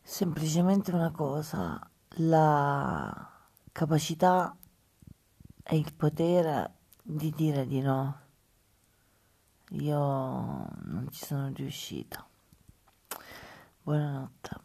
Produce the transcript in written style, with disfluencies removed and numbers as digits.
Semplicemente una cosa, la capacità e il potere di dire di no. Io non ci sono riuscita. Buonanotte.